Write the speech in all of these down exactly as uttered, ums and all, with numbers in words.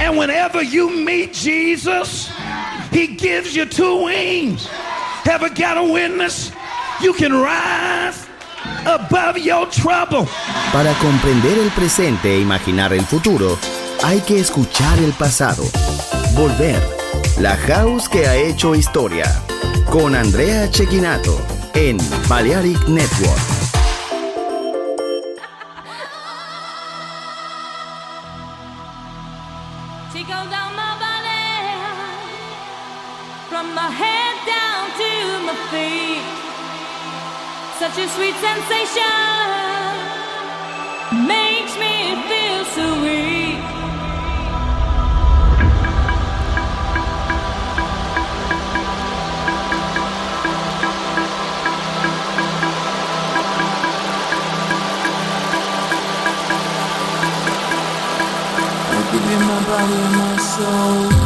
And whenever you meet Jesus, he gives you two wings. Ever got a witness? You can rise above your trouble. Para comprender el presente e imaginar el futuro, hay que escuchar el pasado. Volver. La House que ha hecho historia. Con Andrea Cecchinato en Balearic Network. Such a sweet sensation makes me feel so weak. I give you my body and my soul.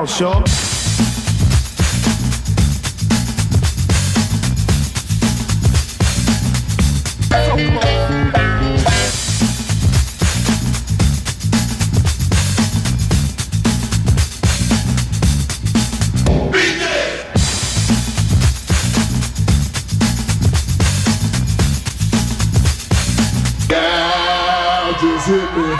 house, y'all. Just hit me.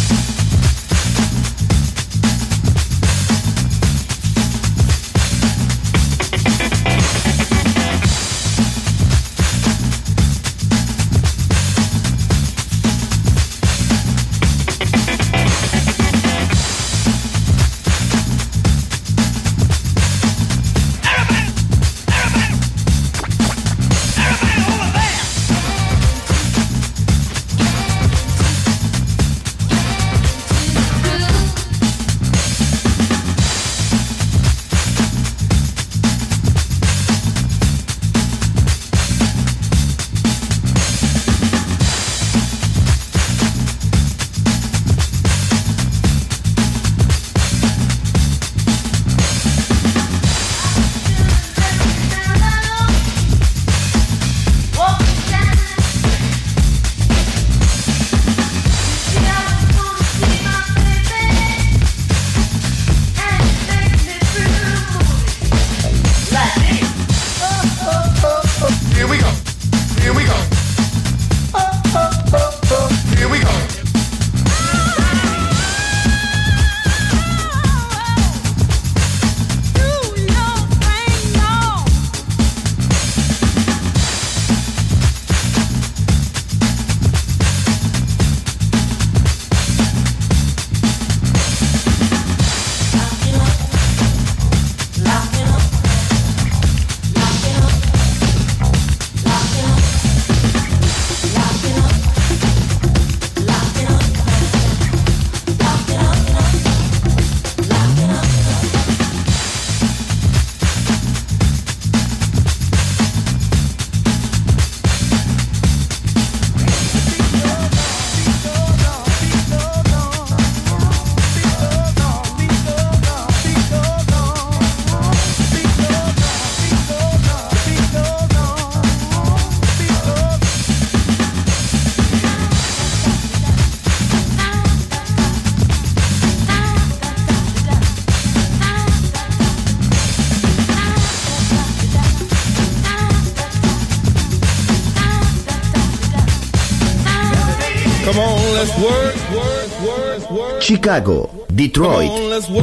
Chicago, Detroit,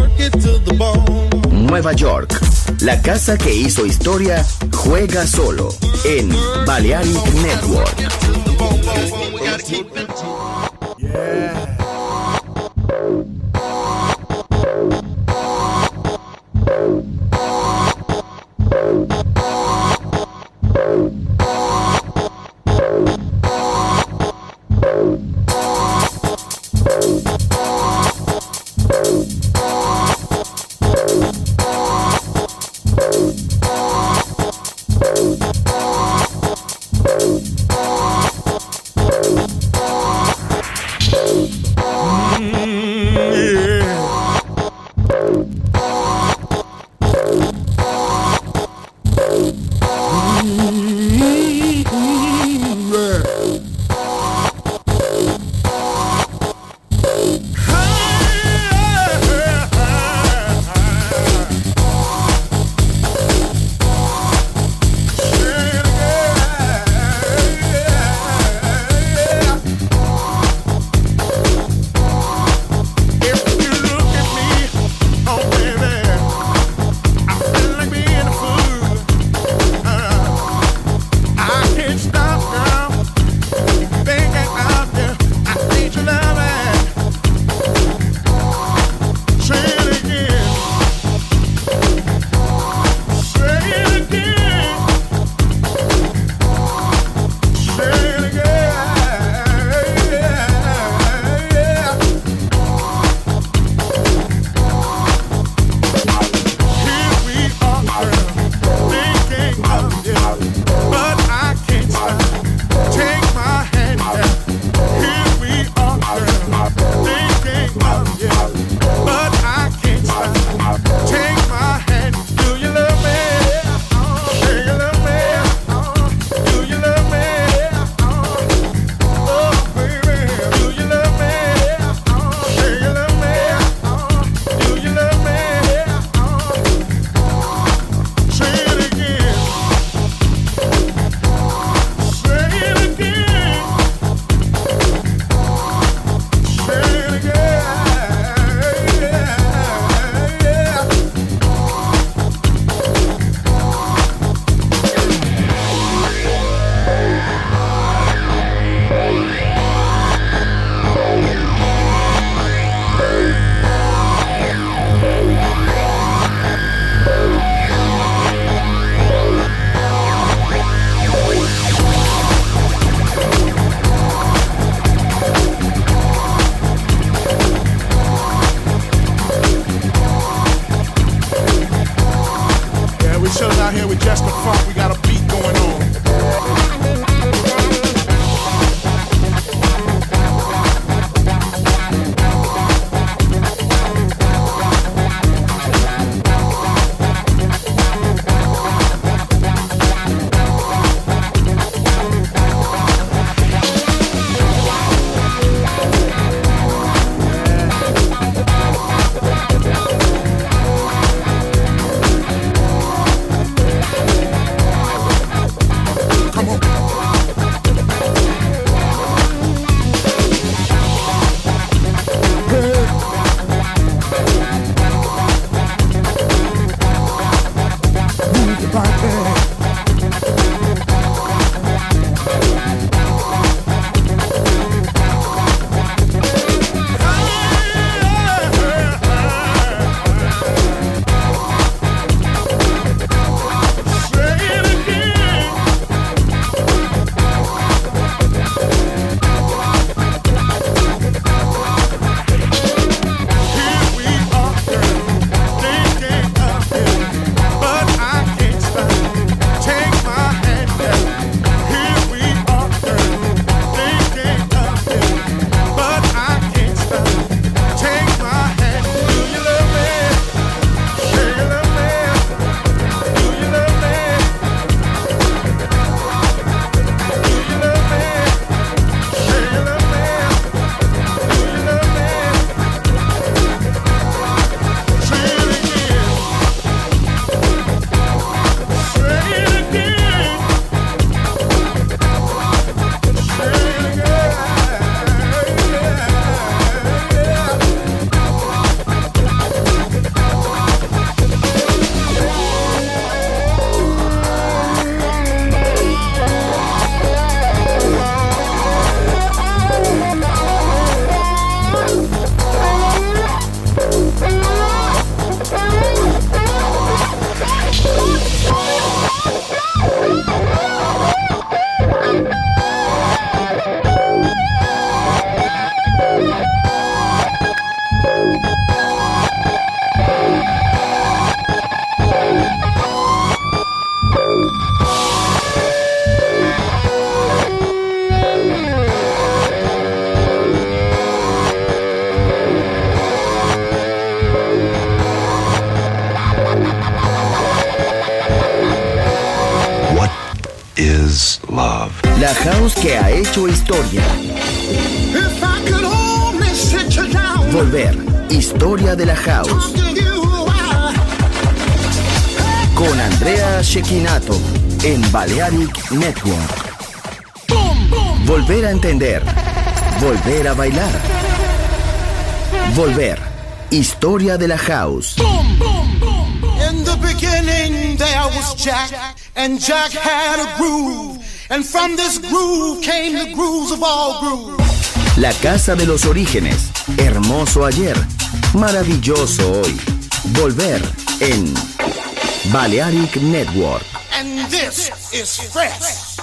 Nueva York. La casa que hizo historia juega solo en Balearic Network. Yeah. Hey. out here with just the funk. We got a beat going on. La house que ha hecho historia. Volver, historia de la house. Con Andrea Cecchinato en Balearic Network. Volver a entender. Volver a bailar. Volver, historia de la house. In the beginning there was Jack, and Jack had a groove. And from this groove came the grooves of all grooves. La casa de los orígenes, hermoso ayer, maravilloso hoy. Volver en Balearic Network. And this is fresh.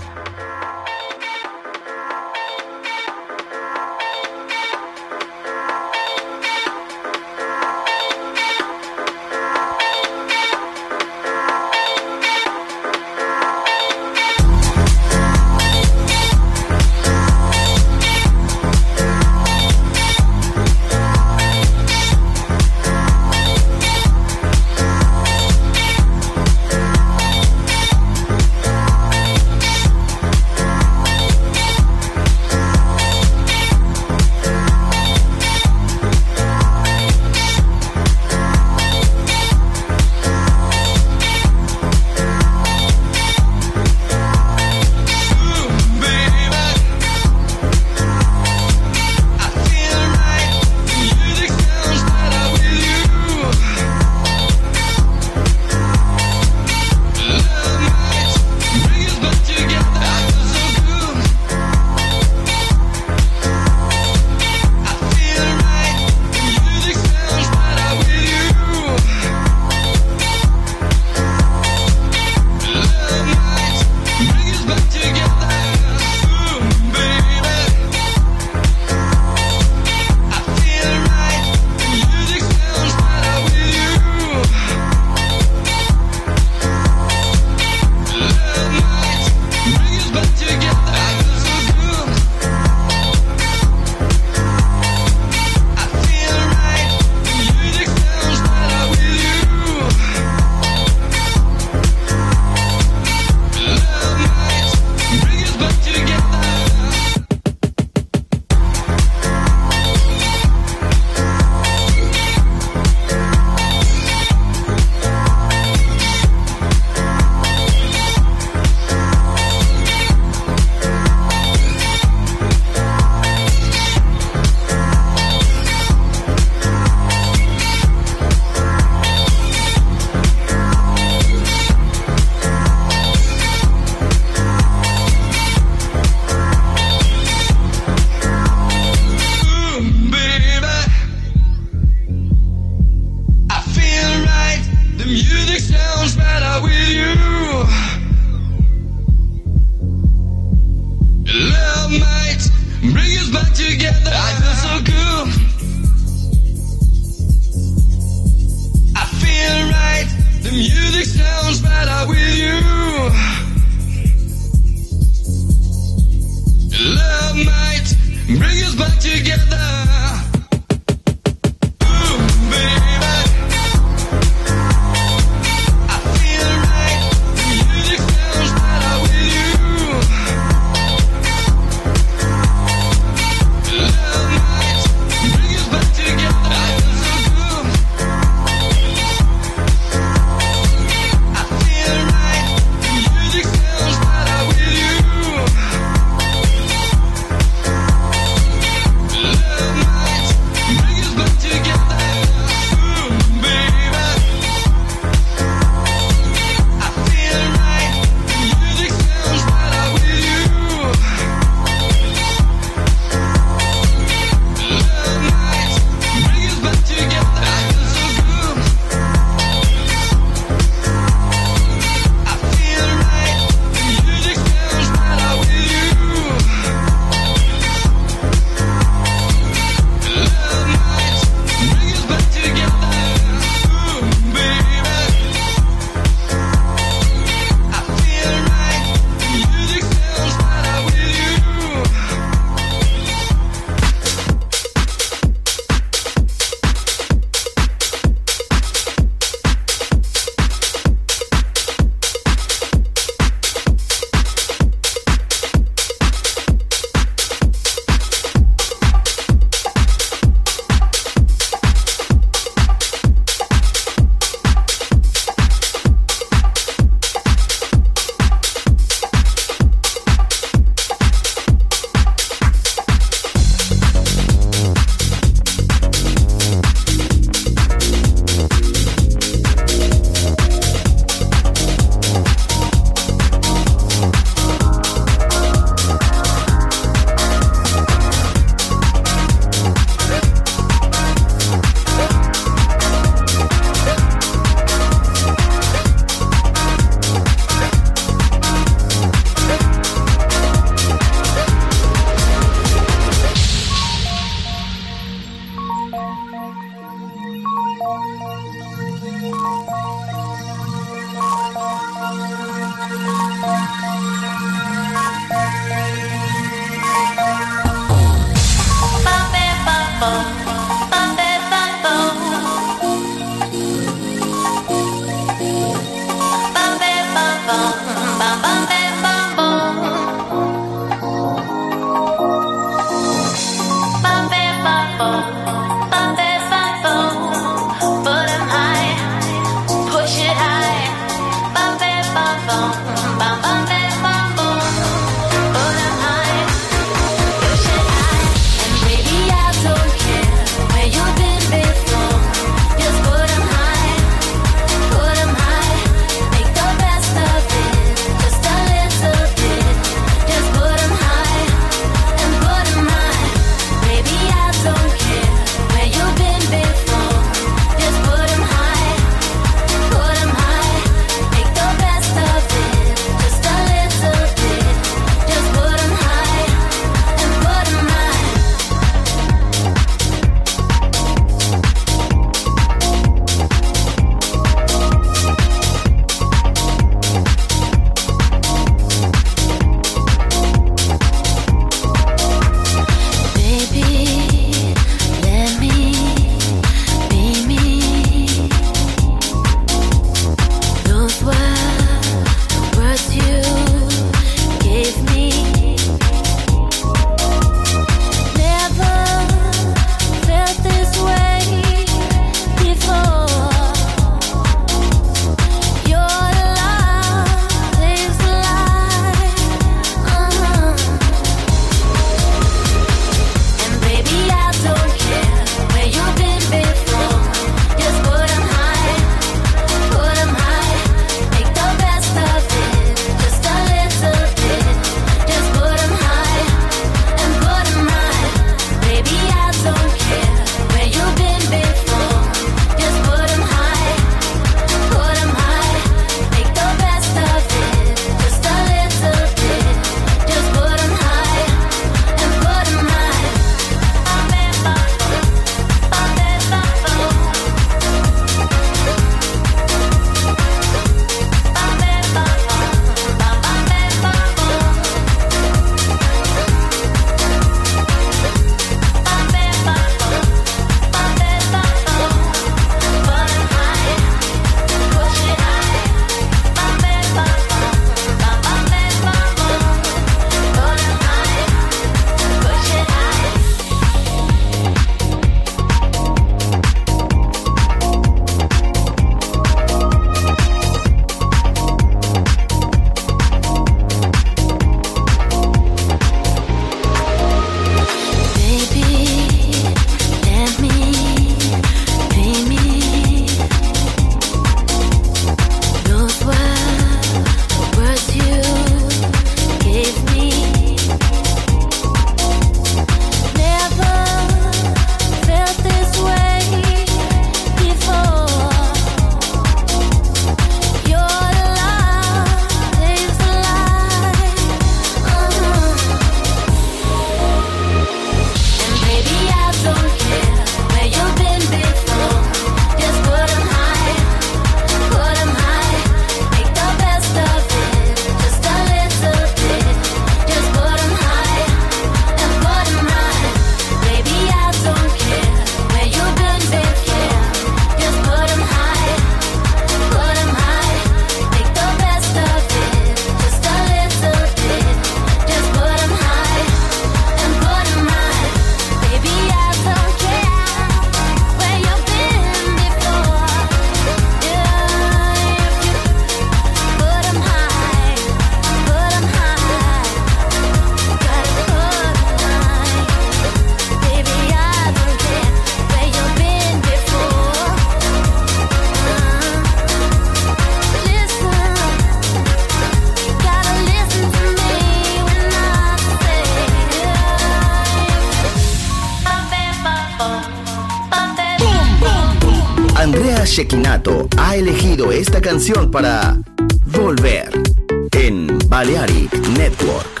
Shekinato ha elegido esta canción para volver en Balearic Network.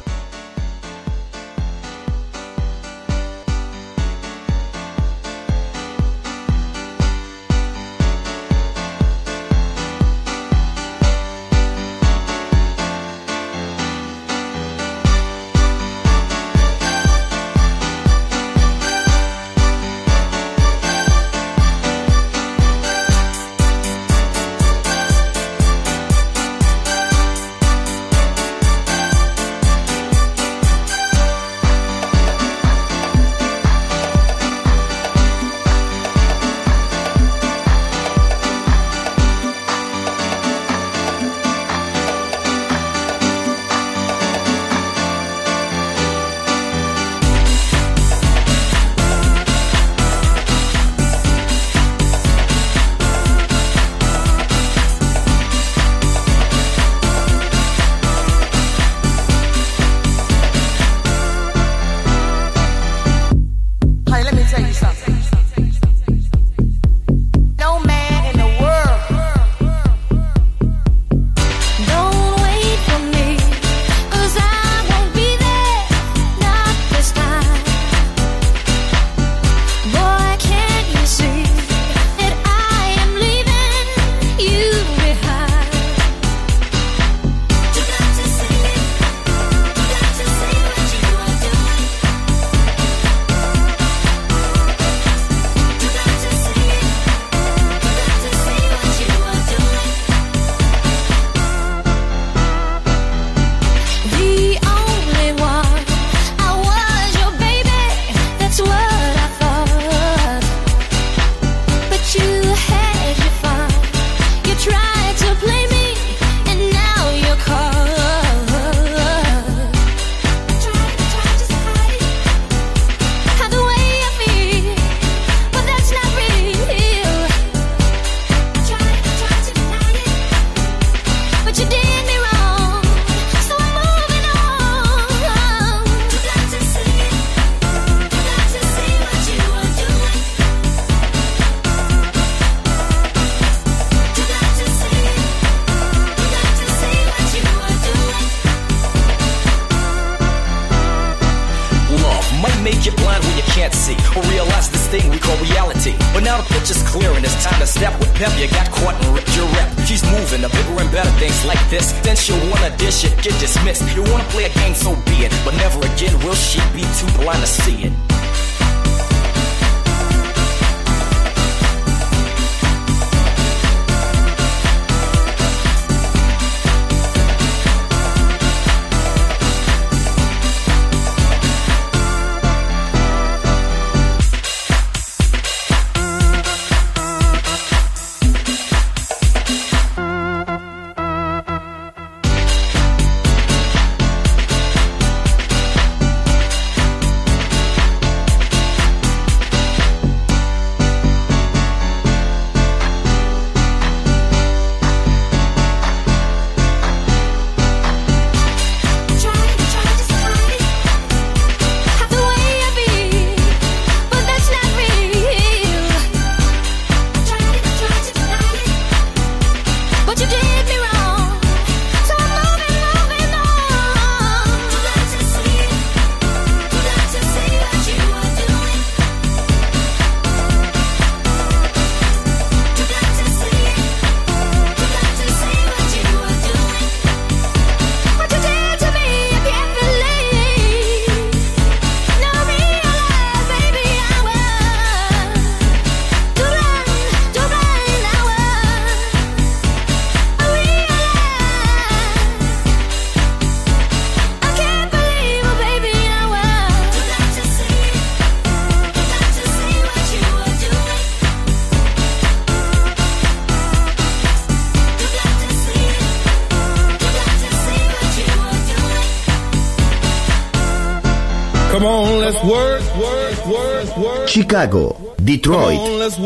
Chicago, Detroit,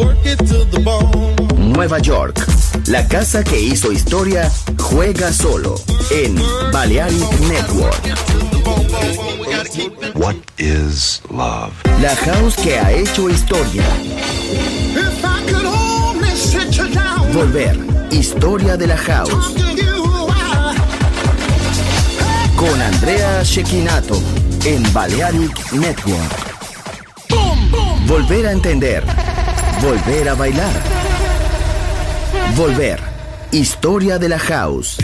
Nueva York. La casa que hizo historia juega solo en Balearic Network. What is love? La house que ha hecho historia. If I could only Volver, historia de la house. Con Andrea Cecchinato en Balearic Network. Volver a entender. Volver a bailar. Volver, historia de la house.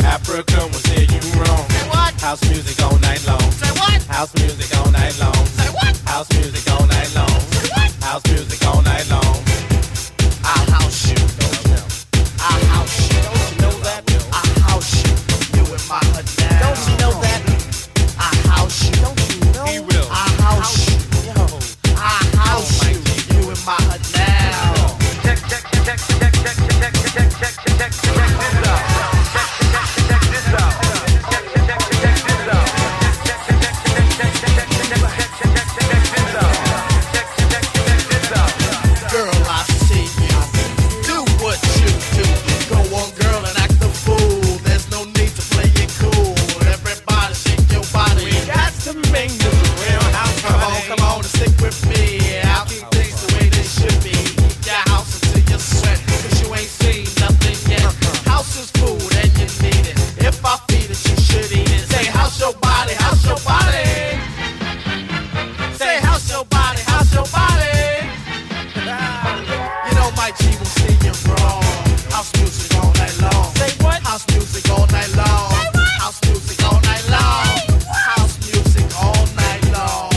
Africa will say you wrong. Say what? House music all night long. Say what? House music all night long. Say what? House music all night long. Say what? House music all night long. I house you. I house you. Don't you know that? I house you. You in my hood now. Don't you know that? I house you. Don't you know? He will. I house you. Yo, I house you. You in my hood now. Check, check, check, check, check, check, check, check, check, check, check, check this out. Check, check, check this out. Check, check, check, check this out. Check, check, check, check, check, check, check, check, check, check this out. Check, check, check this out. Girl, I see you. Do what you do. Go on, girl, and act the fool. There's no need to play it cool. Everybody shake your body. We got to make this a real house Come party. on, come on and stick with me. I'll keep things the way they should be. Keep your house until you sweat, cause you ain't seen nothing yet. House is food and you need it. If I feed it, you should eat it. Say house your body, house your body. Say house your body, house your body. You know my G will see you wrong. House music all night long. Say what? House music all night long. House music all night long. House music all night long.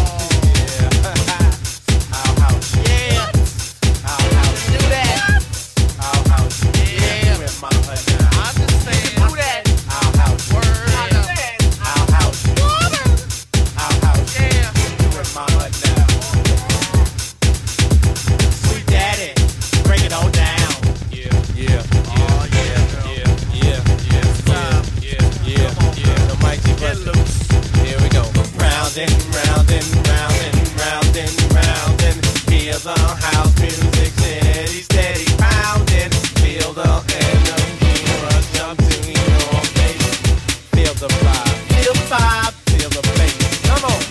Our house, Yeah, our house, do that. our house. Yeah. You in my hood now. I understand. Do that. Our house, Word. our house, our house. Yeah. You in my hood now. Sweet daddy, break it all down. Yeah, yeah, Oh, yeah, girl. yeah, yeah, yeah, time. yeah, yeah, yeah, yeah. The mic keep Get bustin'. loose. Here we go. Round and round and round and round and round and feel the house music steady, steady pounding. Feel the energy rush up to your face. Feel the vibe, feel the vibe, feel the bass. Come on.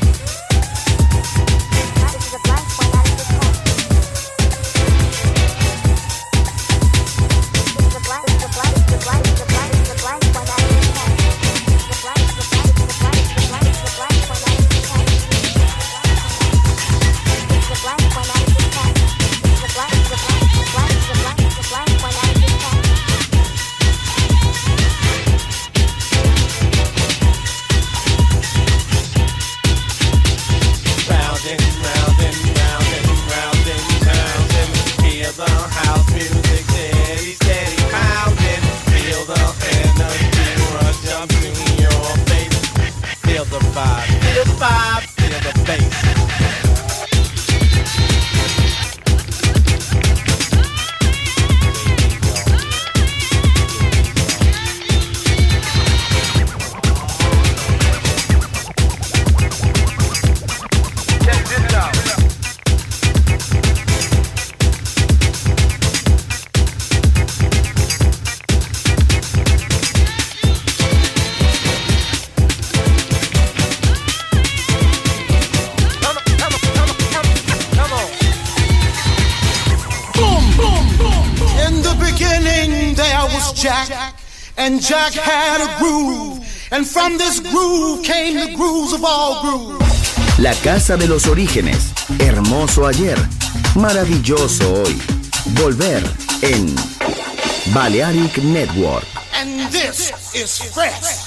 Round and round and round and round and round and feel the house music steady, steady pounding. Feel the energy rush up to your face. Feel the vibe, feel the vibe, feel the bass. Check this out. Come on, come on, come on, come on, come on. In the beginning there was Jack, and Jack had a groove, and from this groove came the grooves of all grooves. La casa de los orígenes. Hermoso ayer. Maravilloso hoy. Volver en Balearic Network. And this is fresh.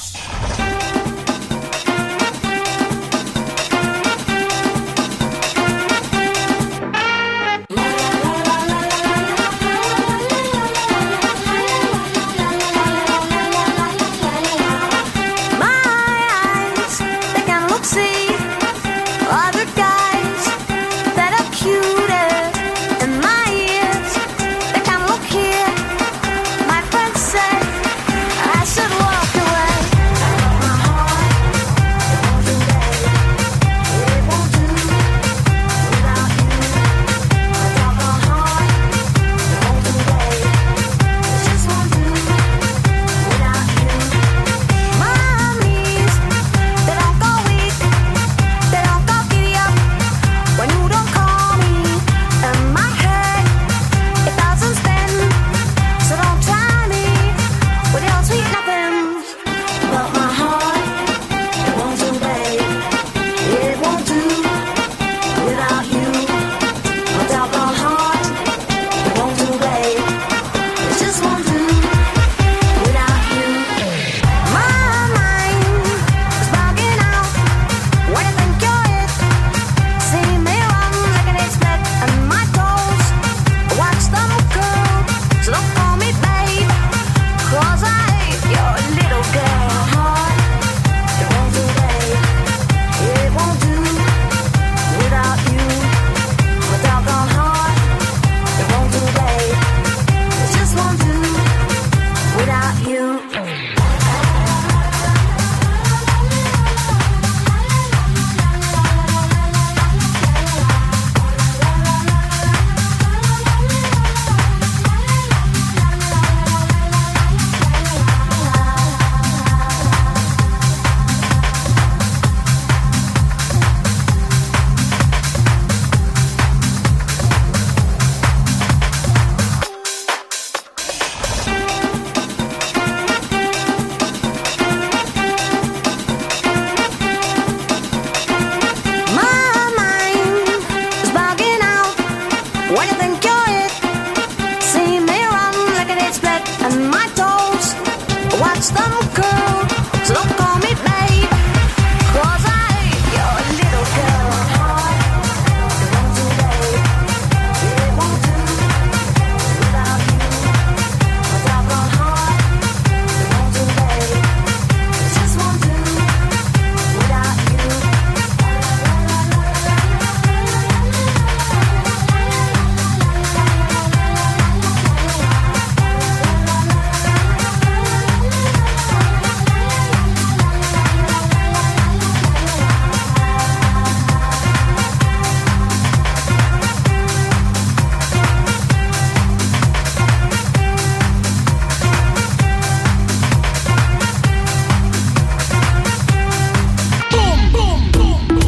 Mommies, they don't go weak, they don't go giddy up.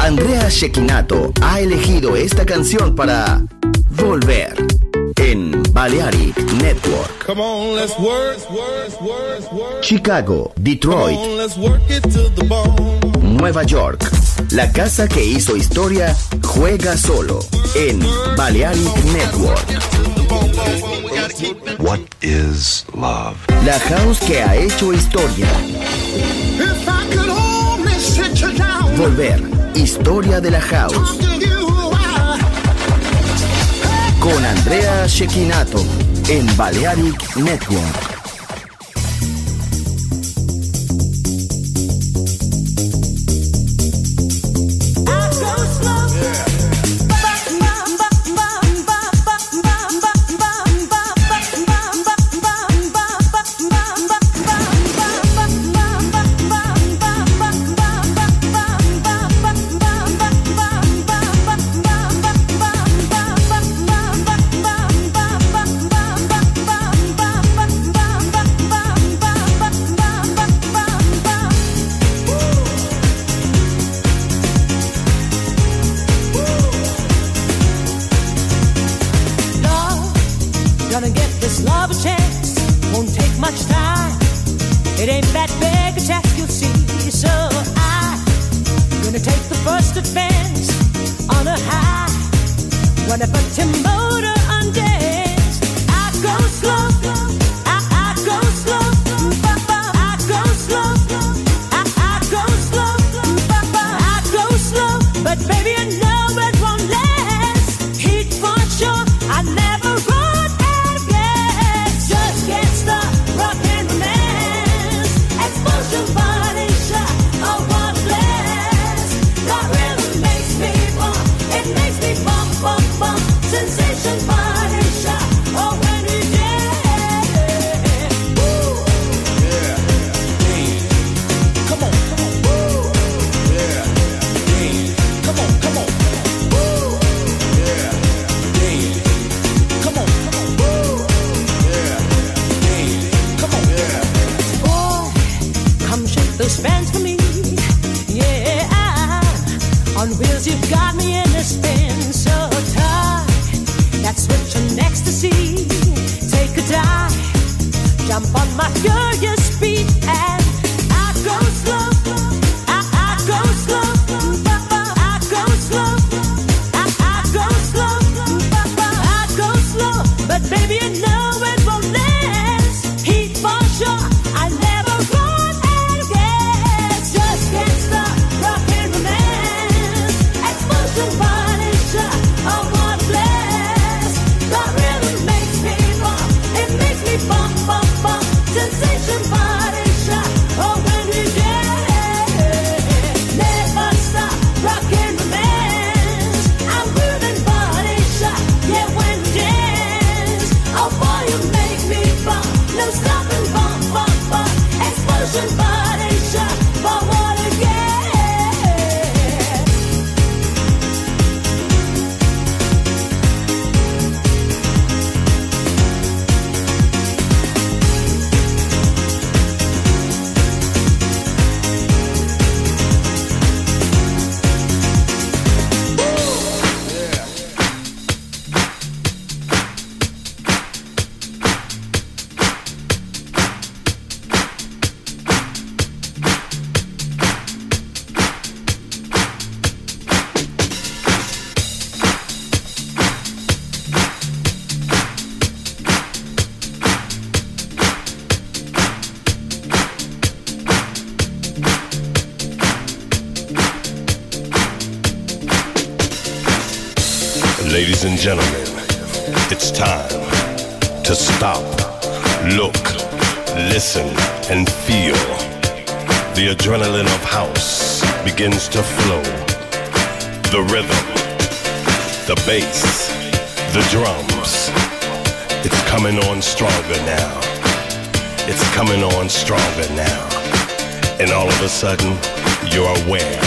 Andrea Cecchinato ha elegido esta canción para volver en Balearic Network. Come on, let's work, work, work, work. Chicago, Detroit, Come on, let's work it to the bone. Nueva York. La casa que hizo historia juega solo en Balearic Network. What is love? La house que ha hecho historia. If I could only sit you down, Volver, historia de la house. talk to you, I- Con Andrea Cecchinato en Balearic Network. Gonna get this love a chance, won't take much time. It ain't that big a task, you'll see. So I'm gonna take the first advance on a high. When I put your motor on dance, I go slow, I, I go slow, I go slow, I, I go slow, I go slow. But baby, I know it won't last. Heat for sure, I never run. Sensation body shot, oh when we dance, woo, Yeah, yeah. Come on, come on, woo. Yeah, yeah. Come on, come on, woo. Yeah, yeah. Come on, come on, woo. Yeah, yeah. Come on, yeah. boy, come shake those fans for me, yeah. On wheels, you've got me in a spin so tight. That switch on ecstasy, take a dive, jump on my furious speed, and I go slow, I, I go slow, I go slow, I, I go slow, I go slow, but baby I know it won't last. Heat for sure, I never run out of gas. Just can't stop rockin' romance, explosion body shot, oh what a blast. The rhythm makes me bump, it makes me bump, bump, bump. Sensation body shot, oh when we dance. Never stop rockin' romance. I'm grooving body shot, yeah when we dance. Oh boy you make me bump, no stopping bump, bump, bump. Explosion body shot, for what again? Ladies and gentlemen, it's time to stop, look, listen, and feel. The adrenaline of house begins to flow. The rhythm, the bass, the drums. It's coming on stronger now. It's coming on stronger now. And all of a sudden, you're aware.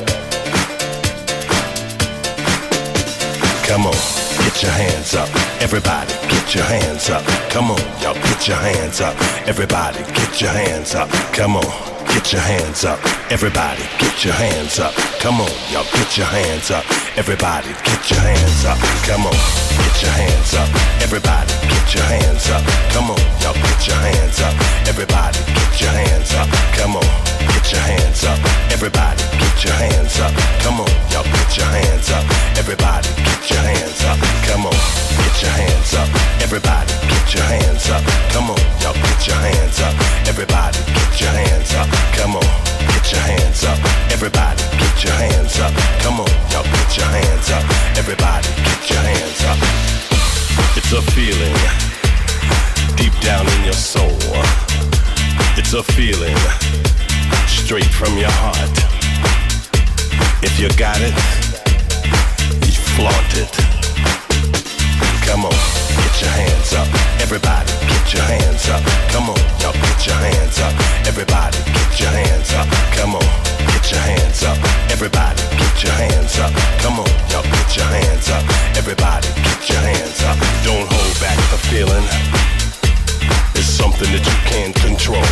Come on, get your hands up. Everybody, get your hands up. Come on, y'all, get your hands up. Everybody, get your hands up. Come on. get your hands up. Everybody, get your hands up. Come on, y'all, get your hands up. Everybody, get your hands up. Come on, get your hands up. Everybody, get your hands up. Come on, y'all, get your hands up. Everybody, get your hands up. Come on, get your hands up. Everybody, get your hands up. Come on, y'all, get your hands up. Everybody, get your hands up. Come on, get your hands up. Everybody, get your hands up. Come on, y'all, get your hands up. Everybody, get your hands up. Come on, get your hands up. Everybody, get your hands up. Come on, y'all, get your hands up. Everybody, get your hands up. It's a feeling deep down in your soul. It's a feeling straight from your heart. If you got it, you flaunt it. Come on, get your hands up. Everybody, get your hands up. Come on, y'all, get your hands up. Everybody, get your hands up. Come on, get your hands up. Everybody, get your hands up. Come on, y'all, get your hands up. Everybody, get your hands up. Don't hold back the feeling. It's something that you can't control.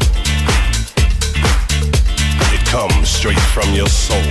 It comes straight from your soul.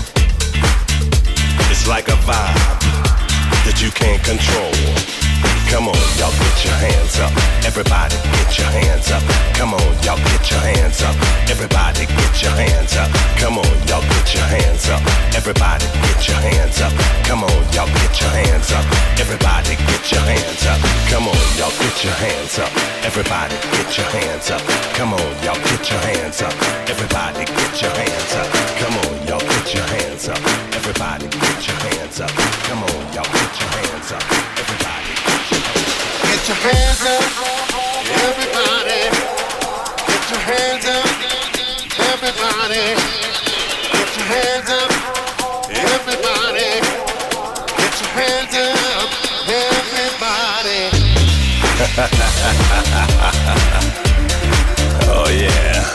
It's like a vibe that you can't control. Come on, y'all, get your hands up. Everybody, get your hands up. Come on, y'all, get your hands up. Everybody, get your hands up. Come on, y'all, get your hands up. Everybody, get your hands up. Come on, y'all, get your hands up. Everybody, get your hands up. Come on, y'all, get your hands up. Everybody, get your hands up. Come on, y'all, get your hands up. Everybody, get your hands up. Come on, y'all, get your hands up. Everybody, get your hands up. Come on, y'all, get your hands up. Everybody, get your hands up. Everybody, get your hands up. Everybody, get your hands up. Everybody, get your hands up. Everybody. Oh yeah.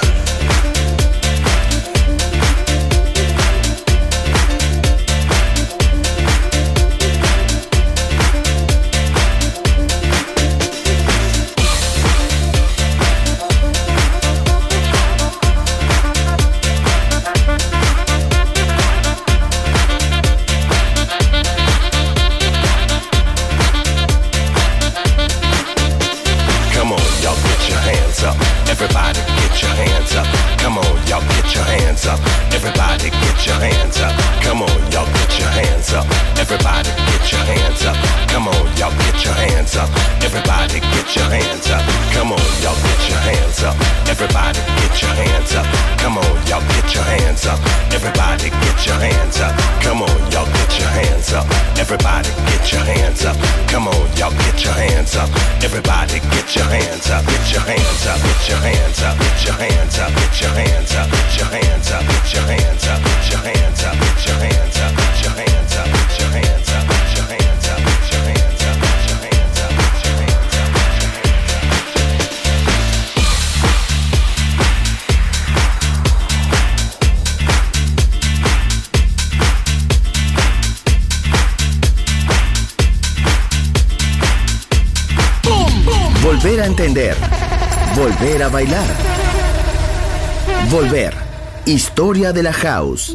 Everybody get your hands up. Come on, y'all get your hands up. Everybody get your hands up. Come on, y'all get your hands up. Everybody get your hands up. Come on, y'all get your hands up. Everybody get your hands up. Come on, y'all get your hands up. Everybody get your hands up. Come on, y'all get your hands up. Everybody get your hands up. Come on, y'all get your hands up. Everybody get your hands up. Come on, y'all get your hands up. Everybody get your hands up. Get your hands up. Get your hands up. Get your hands up. Get your hands up. Get your hands up. Get your hands up. Get your hands up. Get your hands up. Get your hands up. Get your hands up. Get your hands up. Get your hands up. Get your hands up. Get your hands up. Volver a entender. Volver a bailar. Volver. Historia de la House.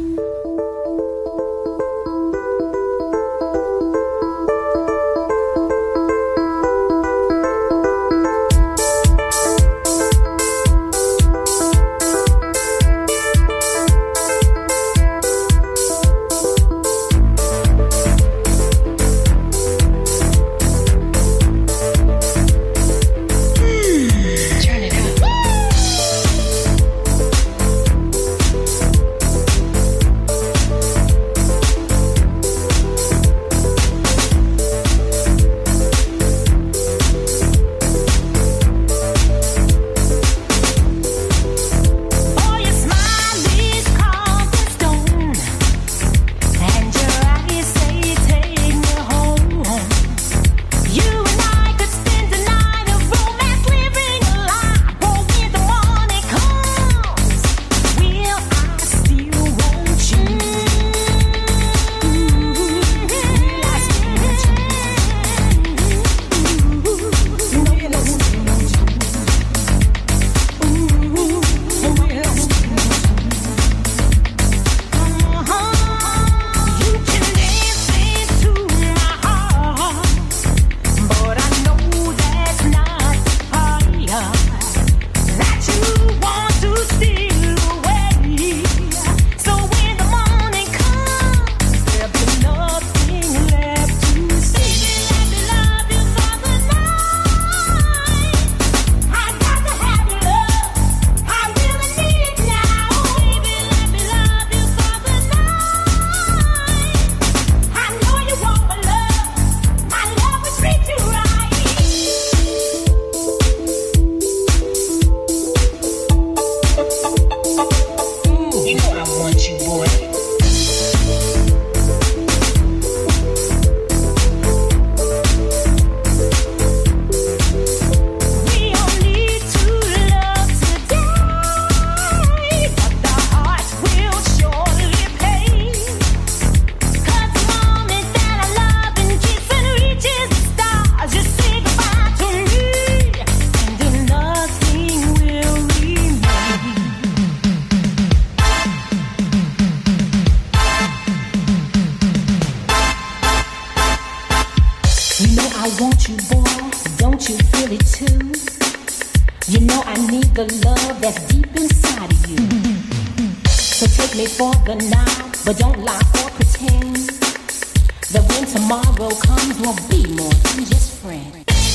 I want you, boy, don't you feel it too? You know I need the love that's deep inside of you. So take me for the night, but don't lie or pretend that when tomorrow comes, we'll be more than just friends.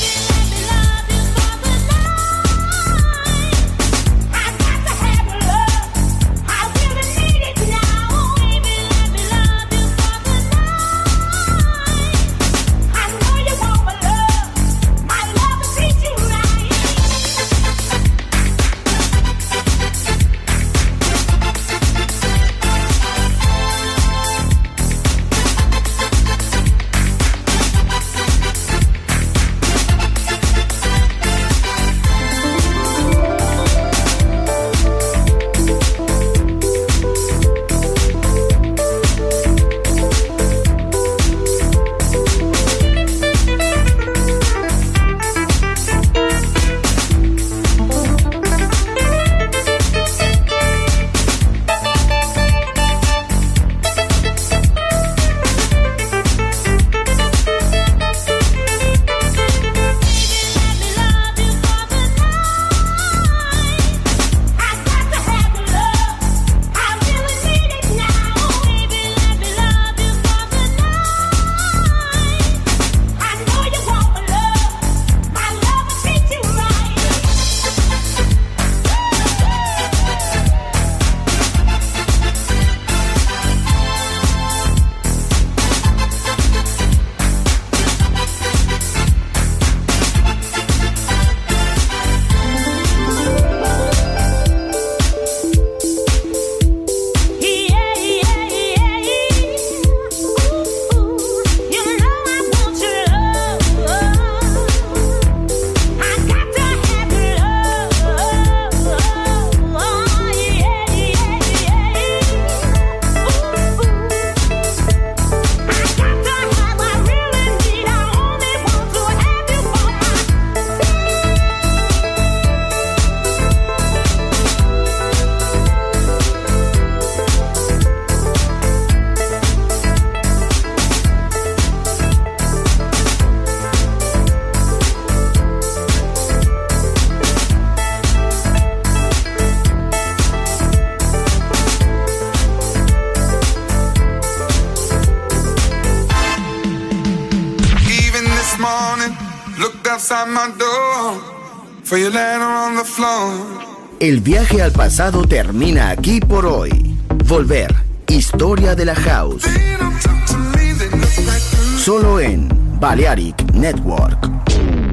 El viaje al pasado termina aquí por hoy. Volver, historia de la house. Solo en Balearic Network.